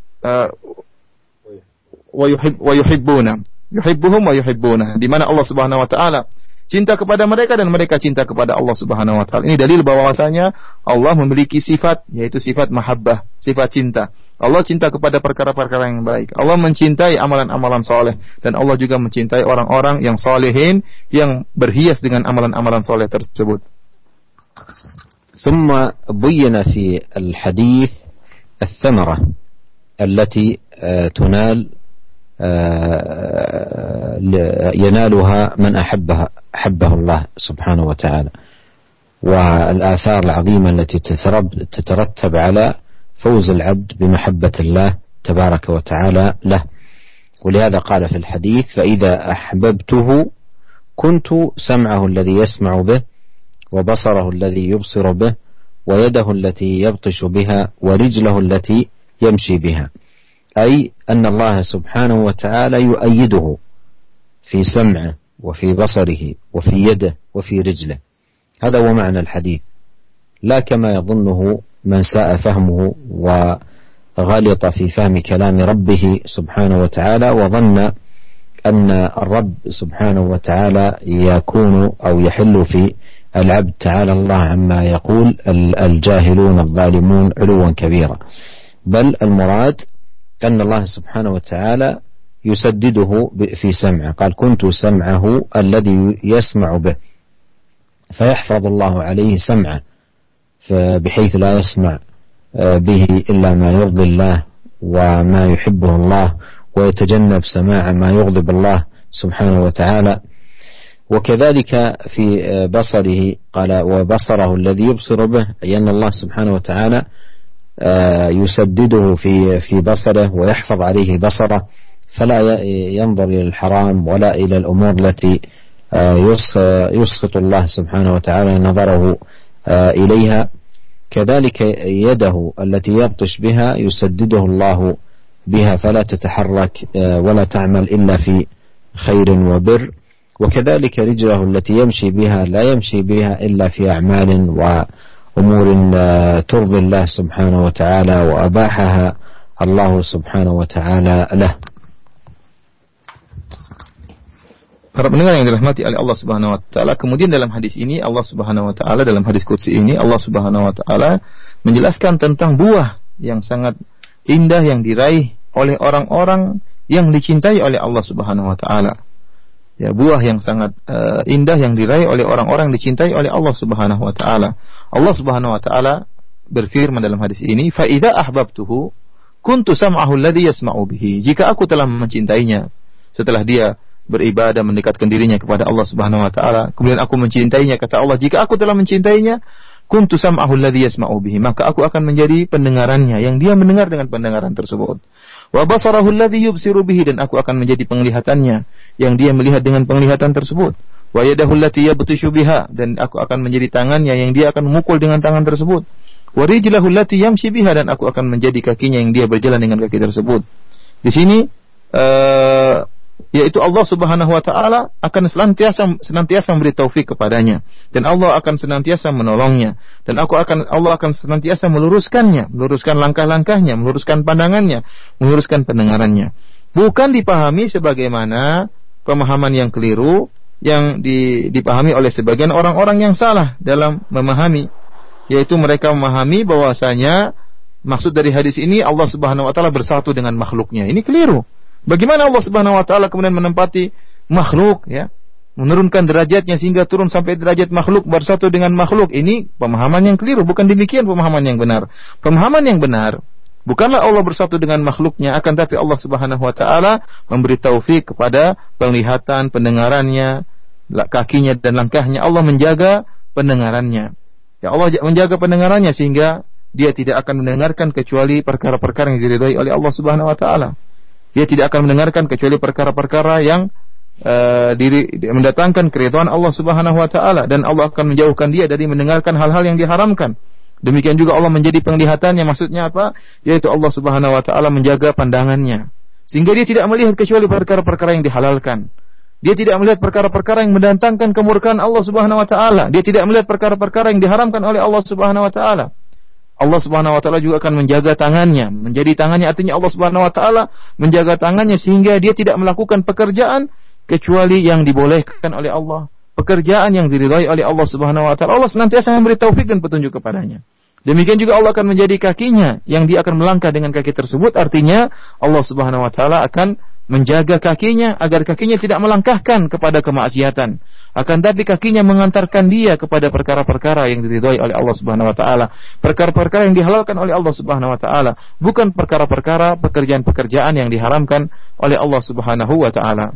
wa yuhibbuna. Yuhibbuhum wa yuhibbuna. Di mana Allah Subhanahu wa taala cinta kepada mereka dan mereka cinta kepada Allah Subhanahu wa taala. Ini dalil bahwasanya Allah memiliki sifat, yaitu sifat mahabbah, sifat cinta. Allah cinta kepada perkara-perkara yang baik. Allah mencintai amalan-amalan saleh, dan Allah juga mencintai orang-orang yang salihin yang berhias dengan amalan-amalan saleh tersebut. ثم بين في الحديث الثمرة التي ينالها من أحبه الله سبحانه وتعالى، والآثار العظيمة التي تترتب على فوز العبد بمحبة الله تبارك وتعالى له. ولهذا قال في الحديث: فإذا أحببته كنت سمعه الذي يسمع به وبصره الذي يبصر به ويده التي يبطش بها ورجله التي يمشي بها، أي أن الله سبحانه وتعالى يؤيده في سمعه وفي بصره وفي يده وفي رجله. هذا هو معنى الحديث، لا كما يظنه من ساء فهمه وغلط في فهم كلام ربه سبحانه وتعالى وظن أن الرب سبحانه وتعالى يكون أو يحل في العبد تعالى الله عما يقول الجاهلون الظالمون علوا كبيرا، بل المراد أن الله سبحانه وتعالى يسدده في سمعه. قال: كنت سمعه الذي يسمع به، فيحفظ الله عليه سمعه بحيث لا يسمع به إلا ما يرضي الله وما يحبه الله ويتجنب سماع ما يغضب الله سبحانه وتعالى. وكذلك في بصره قال وبصره الذي يبصر به، أي أن الله سبحانه وتعالى يسدده في بصره ويحفظ عليه بصره، فلا ينظر إلى الحرام ولا إلى الأمور التي يسخط الله سبحانه وتعالى نظره إليها. كذلك يده التي يبطش بها يسدده الله بها فلا تتحرك ولا تعمل إلا في خير وبر. وكذلك رجله التي يمشي بها لا يمشي بها إلا في أعمال وأمور ترضي الله سبحانه وتعالى وأباحها الله سبحانه وتعالى له. Para pendengar yang dirahmati oleh Allah Subhanahu wa taala, kemudian dalam hadis ini Allah Subhanahu wa taala, dalam hadis qudsi ini Allah Subhanahu wa taala menjelaskan tentang buah yang sangat indah yang diraih oleh orang-orang yang dicintai oleh Allah Subhanahu wa taala. Ya, buah yang sangat indah yang diraih oleh orang-orang dicintai oleh Allah Subhanahu wa taala. Allah Subhanahu wa taala berfirman dalam hadis ini, "Fa idza ahbabtuhu kuntu sam'ahu alladhi yasma'u bihi." Jika aku telah mencintainya, setelah dia beribadah mendekatkan dirinya kepada Allah Subhanahu wa taala, kemudian aku mencintainya, kata Allah, jika aku telah mencintainya, kuntu sam'ahu alladhi yasma'u bihi, maka aku akan menjadi pendengarannya yang dia mendengar dengan pendengaran tersebut. Wa basarahu alladhi yubsiru bihi, dan aku akan menjadi penglihatannya yang dia melihat dengan penglihatan tersebut. Wa yadahu allati yabtishu biha, dan aku akan menjadi tangannya yang dia akan memukul dengan tangan tersebut. Wa rijlahu allati yamshi biha, dan aku akan menjadi kakinya yang dia berjalan dengan kaki tersebut. Di sini yaitu Allah Subhanahu wa taala akan senantiasa memberi taufik kepadanya, dan Allah akan senantiasa menolongnya, dan Allah akan senantiasa meluruskan langkah-langkahnya, meluruskan pandangannya, meluruskan pendengarannya. Bukan dipahami sebagaimana pemahaman yang keliru yang dipahami oleh sebagian orang-orang yang salah dalam memahami, yaitu mereka memahami bahwasanya maksud dari hadis ini Allah Subhanahu wa taala bersatu dengan makhluknya. Ini keliru. Bagaimana Allah Subhanahu wa taala kemudian menempati makhluk, ya, menurunkan derajatnya sehingga turun sampai derajat makhluk, bersatu dengan makhluk? Ini pemahaman yang keliru, bukan demikian pemahaman yang benar. Pemahaman yang benar, bukanlah Allah bersatu dengan makhluknya, akan tapi Allah Subhanahu wa taala memberi taufik kepada penglihatan, pendengarannya, kakinya dan langkahnya. Allah menjaga pendengarannya. Ya, Allah menjaga pendengarannya sehingga dia tidak akan mendengarkan kecuali perkara-perkara yang diridhai oleh Allah Subhanahu wa taala. Dia tidak akan mendengarkan kecuali perkara-perkara yang mendatangkan keridhaan Allah Subhanahu wa taala, dan Allah akan menjauhkan dia dari mendengarkan hal-hal yang diharamkan. Demikian juga Allah menjadi penglihatannya, maksudnya apa? Yaitu Allah Subhanahu wa taala menjaga pandangannya sehingga dia tidak melihat kecuali perkara-perkara yang dihalalkan. Dia tidak melihat perkara-perkara yang mendatangkan kemurkaan Allah Subhanahu wa taala. Dia tidak melihat perkara-perkara yang diharamkan oleh Allah Subhanahu wa taala. Allah Subhanahu wa taala juga akan menjaga tangannya, menjadi tangannya, artinya Allah Subhanahu wa taala menjaga tangannya sehingga dia tidak melakukan pekerjaan kecuali yang dibolehkan oleh Allah, pekerjaan yang diridhai oleh Allah Subhanahu wa taala. Allah senantiasa memberi taufik dan petunjuk kepadanya. Demikian juga Allah akan menjadi kakinya yang dia akan melangkah dengan kaki tersebut, artinya Allah Subhanahu wa taala akan menjaga kakinya agar kakinya tidak melangkahkan kepada kemaksiatan, akan tapi kakinya mengantarkan dia kepada perkara-perkara yang diridhai oleh Allah Subhanahu wa taala, perkara-perkara yang dihalalkan oleh Allah Subhanahu wa taala, bukan perkara-perkara pekerjaan-pekerjaan yang diharamkan oleh Allah Subhanahu wa taala.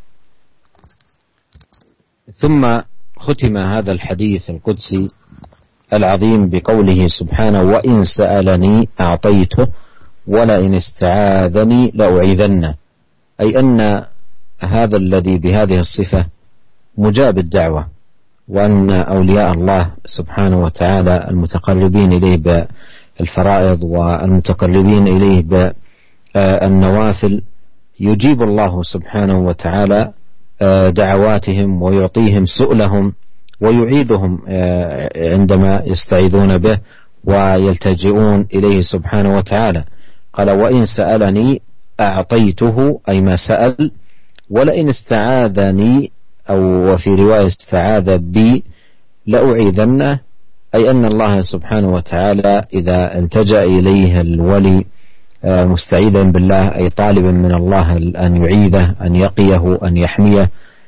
ثم ختم هذا الحديث القدسي العظيم بقوله سبحانه وإن سألني أعطيته ولئن استعاذني لأعيذنه، أي أن هذا الذي بهذه الصفة مجاب الدعوة، وأن أولياء الله سبحانه وتعالى المتقربين إليه بالفرائض والمتقربين إليه بالنوافل يجيب الله سبحانه وتعالى دعواتهم ويعطيهم سؤلهم ويعيدهم عندما يستعيذون به ويلتجئون إليه سبحانه وتعالى. قال وإن سألني أعطيته، أي ما سأل، ولئن استعاذني أو وفي رواية استعاذ بي لأعيذنه، أي أن الله سبحانه وتعالى إذا التجأ إليه الولي مستعيذا بالله، أي طالبا من الله أن يعيذه، أن يقيه، أن يحميه،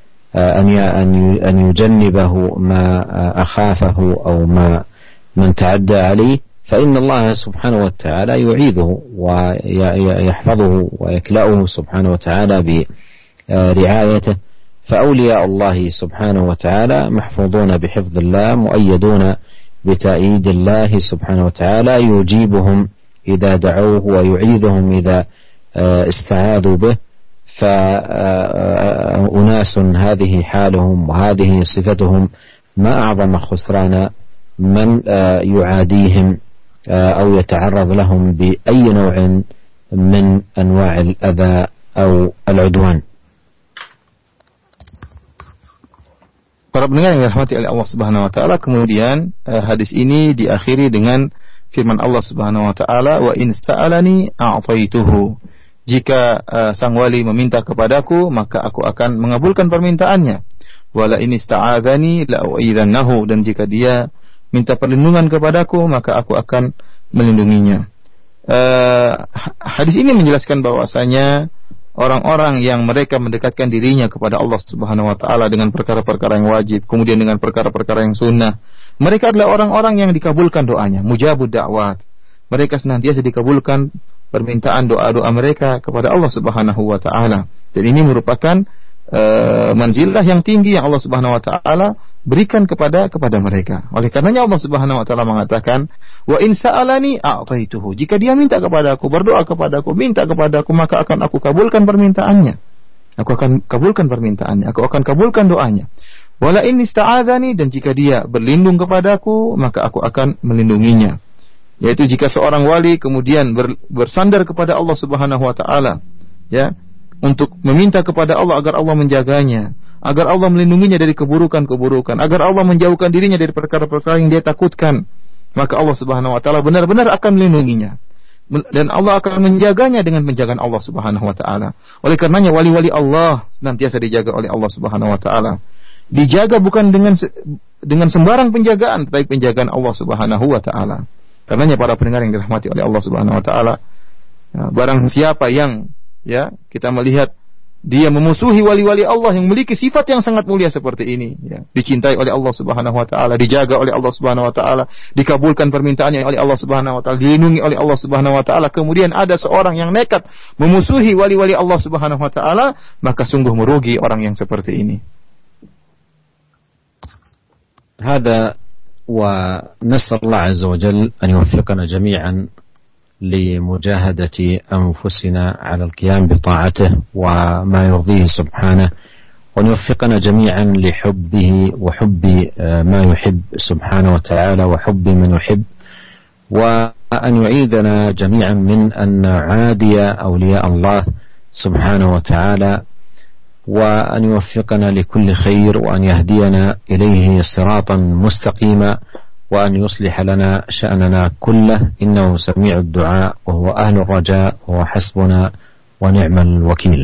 أن يجنبه ما أخافه أو ما من تعدى عليه، فإن الله سبحانه وتعالى يعيذه ويحفظه ويكلأه سبحانه وتعالى برعايته. فأولياء الله سبحانه وتعالى محفوظون بحفظ الله، مؤيدون بتأييد الله سبحانه وتعالى، يجيبهم إذا دعوه ويعيذهم إذا استعاذوا به. فأناس هذه حالهم وهذه صفتهم، ما أعظم خسران من يعاديهم أو يتعرض لهم بأي نوع من أنواع الأذى أو العدوان. Para pendengar yang dirahmati oleh Allah Subhanahu wa taala, kemudian hadis ini diakhiri dengan firman Allah Subhanahu wa taala, wa in sta'alani a'taituhu. Jika sang wali meminta kepadaku, maka aku akan mengabulkan permintaannya. Wala in ista'adzani la'u'idzannahu, dan jika dia minta perlindungan kepadaku, maka aku akan melindunginya. Hadis ini menjelaskan bahwasanya orang-orang yang mereka mendekatkan dirinya kepada Allah Subhanahu wa taala dengan perkara-perkara yang wajib, kemudian dengan perkara-perkara yang sunnah, mereka adalah orang-orang yang dikabulkan doanya, mujabud da'wat. Mereka senantiasa dikabulkan permintaan doa-doa mereka kepada Allah Subhanahu wa taala. Dan ini merupakan manzilah yang tinggi yang Allah Subhanahu wa taala berikan kepada mereka. Oleh karenanya Allah Subhanahu wa taala mengatakan, wa in sa'alani a'taituhu. Jika dia minta kepadaku, berdoa kepadaku, minta kepadaku, maka akan aku kabulkan permintaannya. Aku akan kabulkan permintaannya, aku akan kabulkan doanya. Wala in ista'adzani, dan jika dia berlindung kepadaku, maka aku akan melindunginya. Yaitu jika seorang wali kemudian bersandar kepada Allah Subhanahu wa taala, ya, untuk meminta kepada Allah agar Allah menjaganya, agar Allah melindunginya dari keburukan-keburukan, agar Allah menjauhkan dirinya dari perkara-perkara yang dia takutkan, maka Allah Subhanahu wa taala benar-benar akan melindunginya, dan Allah akan menjaganya dengan penjagaan Allah Subhanahu wa taala. Oleh karenanya wali-wali Allah senantiasa dijaga oleh Allah Subhanahu wa taala. Dijaga bukan dengan sembarang penjagaan, tetapi penjagaan Allah Subhanahu wa taala. Karenanya para pendengar yang dirahmati oleh Allah Subhanahu wa taala, barang siapa yang kita melihat dia memusuhi wali-wali Allah yang memiliki sifat yang sangat mulia seperti ini, dicintai oleh Allah Subhanahu wa taala, dijaga oleh Allah Subhanahu wa taala, dikabulkan permintaannya oleh Allah Subhanahu wa taala, dilindungi oleh Allah Subhanahu wa taala, kemudian ada seorang yang nekat memusuhi wali-wali Allah Subhanahu wa taala, maka sungguh merugi orang yang seperti ini. هذا ونسأل الله عز وجل أن يوفقنا جميعا لمجاهدة أنفسنا على القيام بطاعته وما يرضيه سبحانه، وأن يوفقنا جميعا لحبه وحب ما يحب سبحانه وتعالى وحب من يحب، وأن يعيذنا جميعا من أن نعادي أولياء الله سبحانه وتعالى، وأن يوفقنا لكل خير، وأن يهدينا إليه صراطا مستقيما، وأن يصلح لنا شأننا كله، إنه سميع الدعاء وهو أهل الرجاء وهو حسبنا ونعم الوكيل.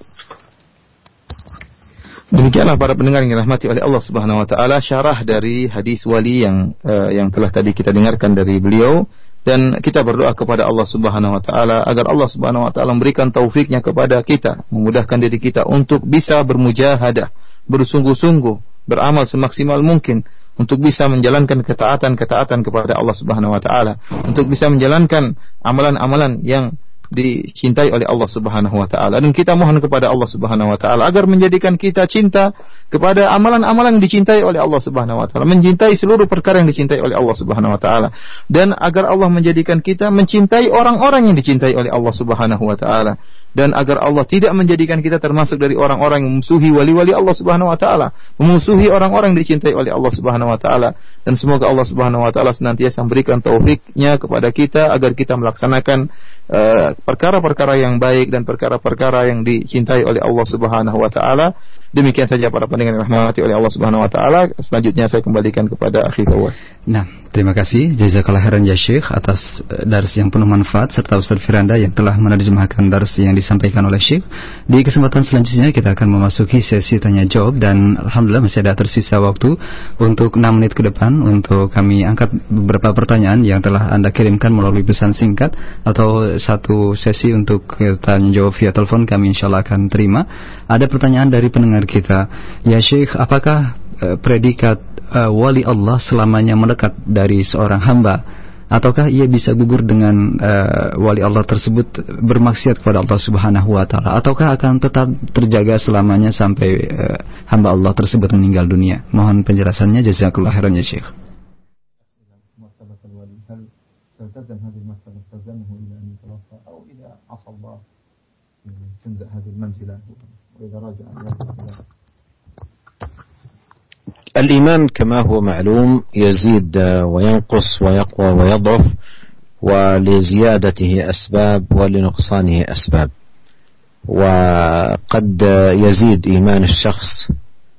Demikianlah para pendengar yang dirahmati oleh Allah Subhanahu wa taala, syarah dari hadis wali yang telah tadi kita dengarkan dari beliau, dan kita berdoa kepada Allah Subhanahu wa taala agar Allah Subhanahu wa taala memberikan taufiknya kepada kita, memudahkan diri kita untuk bisa bermujahadah, bersungguh-sungguh, beramal semaksimal mungkin untuk bisa menjalankan ketaatan-ketaatan kepada Allah Subhanahu wa taala, untuk bisa menjalankan amalan-amalan yang dicintai oleh Allah Subhanahu wa taala. Dan kita mohon kepada Allah Subhanahu wa taala agar menjadikan kita cinta kepada amalan-amalan yang dicintai oleh Allah Subhanahu wa taala, mencintai seluruh perkara yang dicintai oleh Allah Subhanahu wa taala, dan agar Allah menjadikan kita mencintai orang-orang yang dicintai oleh Allah Subhanahu wa taala, dan agar Allah tidak menjadikan kita termasuk dari orang-orang yang memusuhi wali-wali Allah Subhanahu wa taala, memusuhi orang-orang yang dicintai oleh Allah Subhanahu wa taala. Dan semoga Allah Subhanahu wa taala senantiasa memberikan taufiknya kepada kita agar kita melaksanakan perkara-perkara yang baik dan perkara-perkara yang dicintai oleh Allah Subhanahu wa taala. Demikian saja para pendengar yang dirahmati oleh Allah Subhanahu wa taala. Selanjutnya saya kembalikan kepada Akhi Fawaz. Nah, terima kasih jazakallah khairan ya Syekh atas dars yang penuh manfaat, serta Ustaz Firanda yang telah menerjemahkan dars yang disampaikan oleh Syekh. Di kesempatan selanjutnya kita akan memasuki sesi tanya jawab, dan alhamdulillah masih ada tersisa waktu untuk 6 menit ke depan untuk kami angkat beberapa pertanyaan yang telah Anda kirimkan melalui pesan singkat, atau satu sesi untuk tanya jawab via telepon kami insyaallah akan terima. Ada pertanyaan dari pendengar kita, ya Syekh, apakah predikat wali Allah selamanya mendekat dari seorang hamba ataukah ia bisa gugur dengan wali Allah tersebut bermaksiat kepada Allah Subhanahu wa taala, ataukah akan tetap terjaga selamanya sampai hamba Allah tersebut meninggal dunia? Mohon penjelasannya, jazakallahu khairan ya Syekh. الإيمان كما هو معلوم يزيد وينقص ويقوى ويضعف، ولزيادته أسباب ولنقصانه أسباب. وقد يزيد إيمان الشخص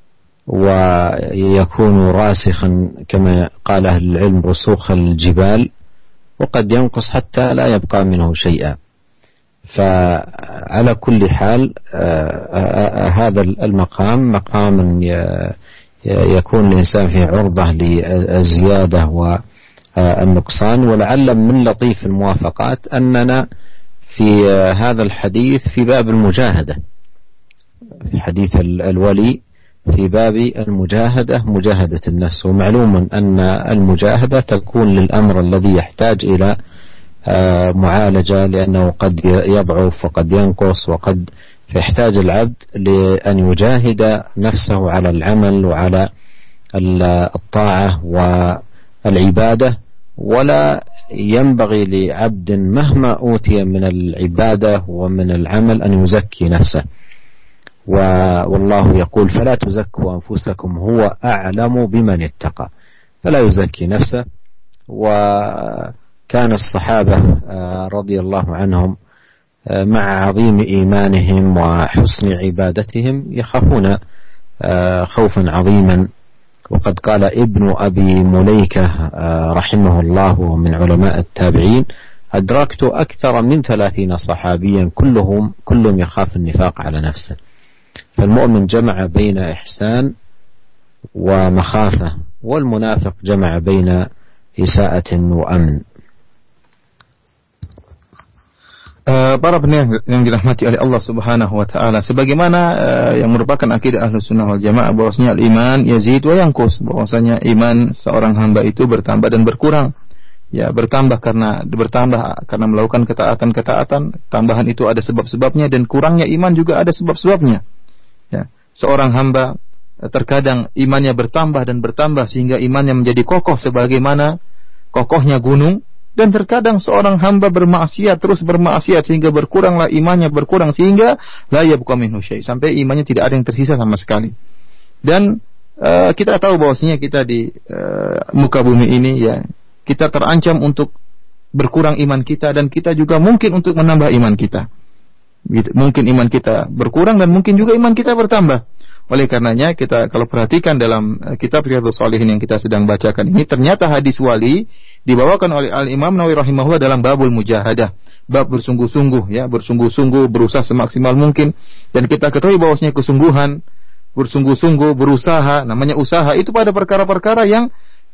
ويكون راسخا كما قال أهل العلم رسوخ الجبال، وقد ينقص حتى لا يبقى منه شيئا. فعلى كل حال هذا المقام مقام يكون الإنسان فيه عرضة للزيادة والنقصان. ولعل من لطيف الموافقات أننا في هذا الحديث في باب المجاهدة، في حديث الولي في باب المجاهدة، مجاهدة النفس. ومعلوم أن المجاهدة تكون للأمر الذي يحتاج إلى معالجة، لأنه قد يضعف وقد ينقص، وقد فيحتاج العبد لأن يجاهد نفسه على العمل وعلى الطاعة والعبادة. ولا ينبغي لعبد مهما أوتي من العبادة ومن العمل أن يزكي نفسه، والله يقول فلا تزكوا أنفسكم هو أعلم بمن اتقى، فلا يزكي نفسه. وكان الصحابة رضي الله عنهم مع عظيم إيمانهم وحسن عبادتهم يخافون خوفا عظيما. وقد قال ابن أبي مليكة رحمه الله ومن علماء التابعين: أدركت أكثر من 30 صحابيا كلهم يخاف النفاق على نفسه. فالمؤمن جمع بين إحسان ومخافة، والمنافق جمع بين إساءة وأمن. Para pendengar yang dirahmati oleh Allah Subhanahu wa taala, sebagaimana yang merupakan akidah Ahlus-Sunnah wal Jamaah bahwasanya al-iman yazid wa yanqus, bahwasanya iman seorang hamba itu bertambah dan berkurang. Ya, bertambah karena melakukan ketaatan-ketaatan, tambahan itu ada sebab-sebabnya, dan kurangnya iman juga ada sebab-sebabnya. Ya, seorang hamba terkadang imannya bertambah dan bertambah sehingga imannya menjadi kokoh sebagaimana kokohnya gunung. Dan terkadang seorang hamba terus bermaksiat sehingga berkuranglah imannya, berkurang sehingga la yabqa minhu syai', sampai imannya tidak ada yang tersisa sama sekali. Dan kita tahu bahwasanya kita di muka bumi ini, ya, kita terancam untuk berkurang iman kita, dan kita juga mungkin untuk menambah iman kita. Mungkin iman kita berkurang dan mungkin juga iman kita bertambah. Oleh karenanya kita kalau perhatikan dalam kitab Riyadhus Shalihin yang kita sedang bacakan ini, ternyata hadis wali dibawakan oleh Al-Imam Nawawi rahimahullah dalam babul mujahadah, bab bersungguh-sungguh, ya, bersungguh-sungguh, berusaha semaksimal mungkin. Dan kita ketahui bahwasanya kesungguhan, bersungguh-sungguh, berusaha, namanya usaha itu pada perkara-perkara yang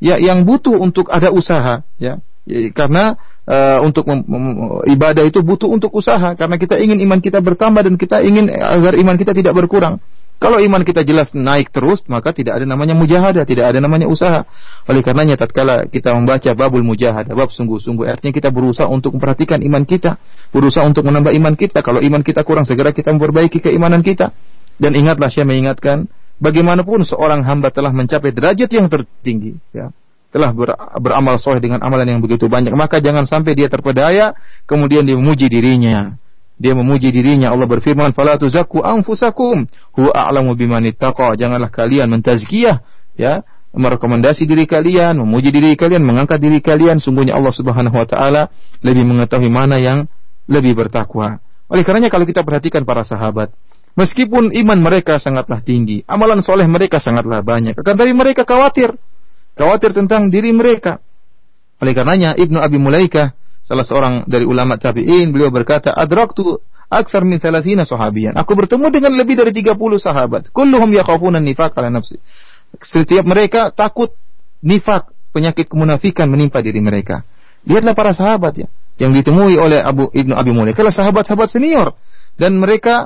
butuh untuk ada usaha, ya. Karena untuk ibadah itu butuh untuk usaha, karena kita ingin iman kita bertambah dan kita ingin agar iman kita tidak berkurang. Kalau iman kita jelas naik terus, maka tidak ada namanya mujahadah, tidak ada namanya usaha. Oleh karenanya tatkala kita membaca babul mujahadah, bab sungguh-sungguh, artinya kita berusaha untuk memperhatikan iman kita, berusaha untuk menambah iman kita. Kalau iman kita kurang, segera kita memperbaiki keimanan kita. Dan ingatlah, saya mengingatkan, bagaimanapun seorang hamba telah mencapai derajat yang tertinggi, ya, telah beramal soleh dengan amalan yang begitu banyak, maka jangan sampai dia terpedaya kemudian dia memuji dirinya. Dia memuji dirinya. Allah berfirman, "Fala tuzakku anfusakum, huwa a'lamu biman ittaqa." Janganlah kalian mentazkiyah, ya, merekomendasi diri kalian, memuji diri kalian, mengangkat diri kalian. Sungguhnya Allah Subhanahu wa taala lebih mengetahui mana yang lebih bertakwa. Oleh karenanya kalau kita perhatikan para sahabat, meskipun iman mereka sangatlah tinggi, amalan soleh mereka sangatlah banyak, akan tapi mereka khawatir tentang diri mereka. Oleh karenanya Ibnu Abi Mulaikah, salah seorang dari ulama tabi'in, beliau berkata, "Adraktu aktsar min 30 sahabiyan." Aku bertemu dengan lebih dari 30 sahabat. Kulluhum yakhafuna nifaq ala nafsi. Setiap mereka takut nifak, penyakit kemunafikan menimpa diri mereka. Lihatlah para sahabat, ya, yang ditemui oleh Ibnu Abi Mulaikah, sahabat-sahabat senior, dan mereka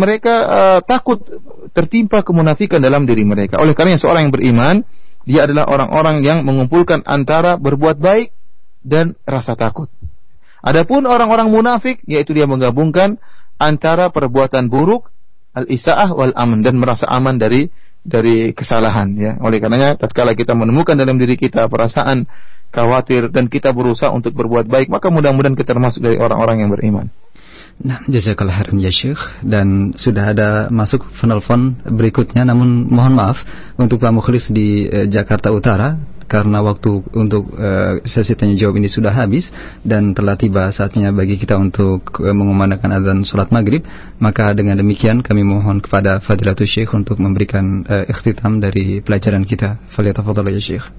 takut tertimpa kemunafikan dalam diri mereka. Oleh karena seorang yang beriman, dia adalah orang-orang yang mengumpulkan antara berbuat baik dan rasa takut. Adapun orang-orang munafik, yaitu dia menggabungkan antara perbuatan buruk, al-isaah wal aman, dan merasa aman dari kesalahan, ya. Oleh karenanya tatkala kita menemukan dalam diri kita perasaan khawatir dan kita berusaha untuk berbuat baik, maka mudah-mudahan kita termasuk dari orang-orang yang beriman. Nah, jazakallah khairan ya Syekh. Dan sudah ada masuk penelpon berikutnya, namun mohon maaf untuk Pak Mukhlis di Jakarta Utara, karena waktu untuk sesi tanya jawab ini sudah habis dan telah tiba saatnya bagi kita untuk mengumandangkan azan salat maghrib. Maka dengan demikian kami mohon kepada Fadilatul Syekh untuk memberikan ikhtitam dari pelajaran kita. Falyatafadhal ya Syekh.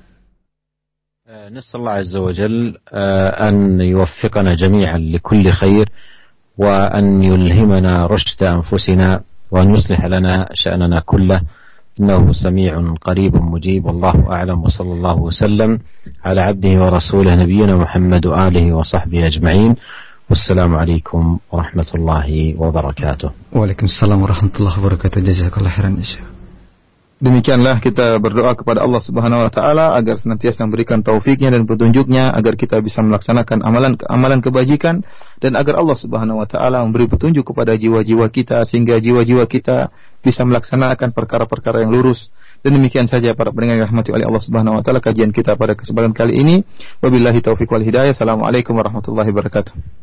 نسأل الله عز وجل أن يوفقنا جميعا لكل خير وأن يلهمنا رشد أنفسنا وأن يصلح لنا شأننا كله إنه سميع قريب مجيب والله أعلم وصلى الله وسلم على عبده ورسوله نبينا محمد وآله وصحبه أجمعين والسلام عليكم ورحمة الله وبركاته. وعليكم السلام ورحمة الله وبركاته. جزاك الله خيرا يا شيخ. Demikianlah kita berdoa kepada Allah Subhanahu wa taala agar senantiasa memberikan taufiknya dan petunjuknya agar kita bisa melaksanakan amalan kebajikan, dan agar Allah Subhanahu wa taala memberi petunjuk kepada jiwa-jiwa kita sehingga jiwa-jiwa kita bisa melaksanakan perkara-perkara yang lurus. Dan demikian saja para pendengar yang dirahmati oleh Allah Subhanahu wa taala kajian kita pada kesempatan kali ini. Wabillahi taufiq wal hidayah. Assalamualaikum warahmatullahi wabarakatuh.